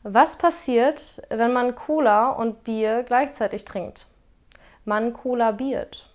Was passiert, wenn man Cola und Bier gleichzeitig trinkt? Man kollabiert.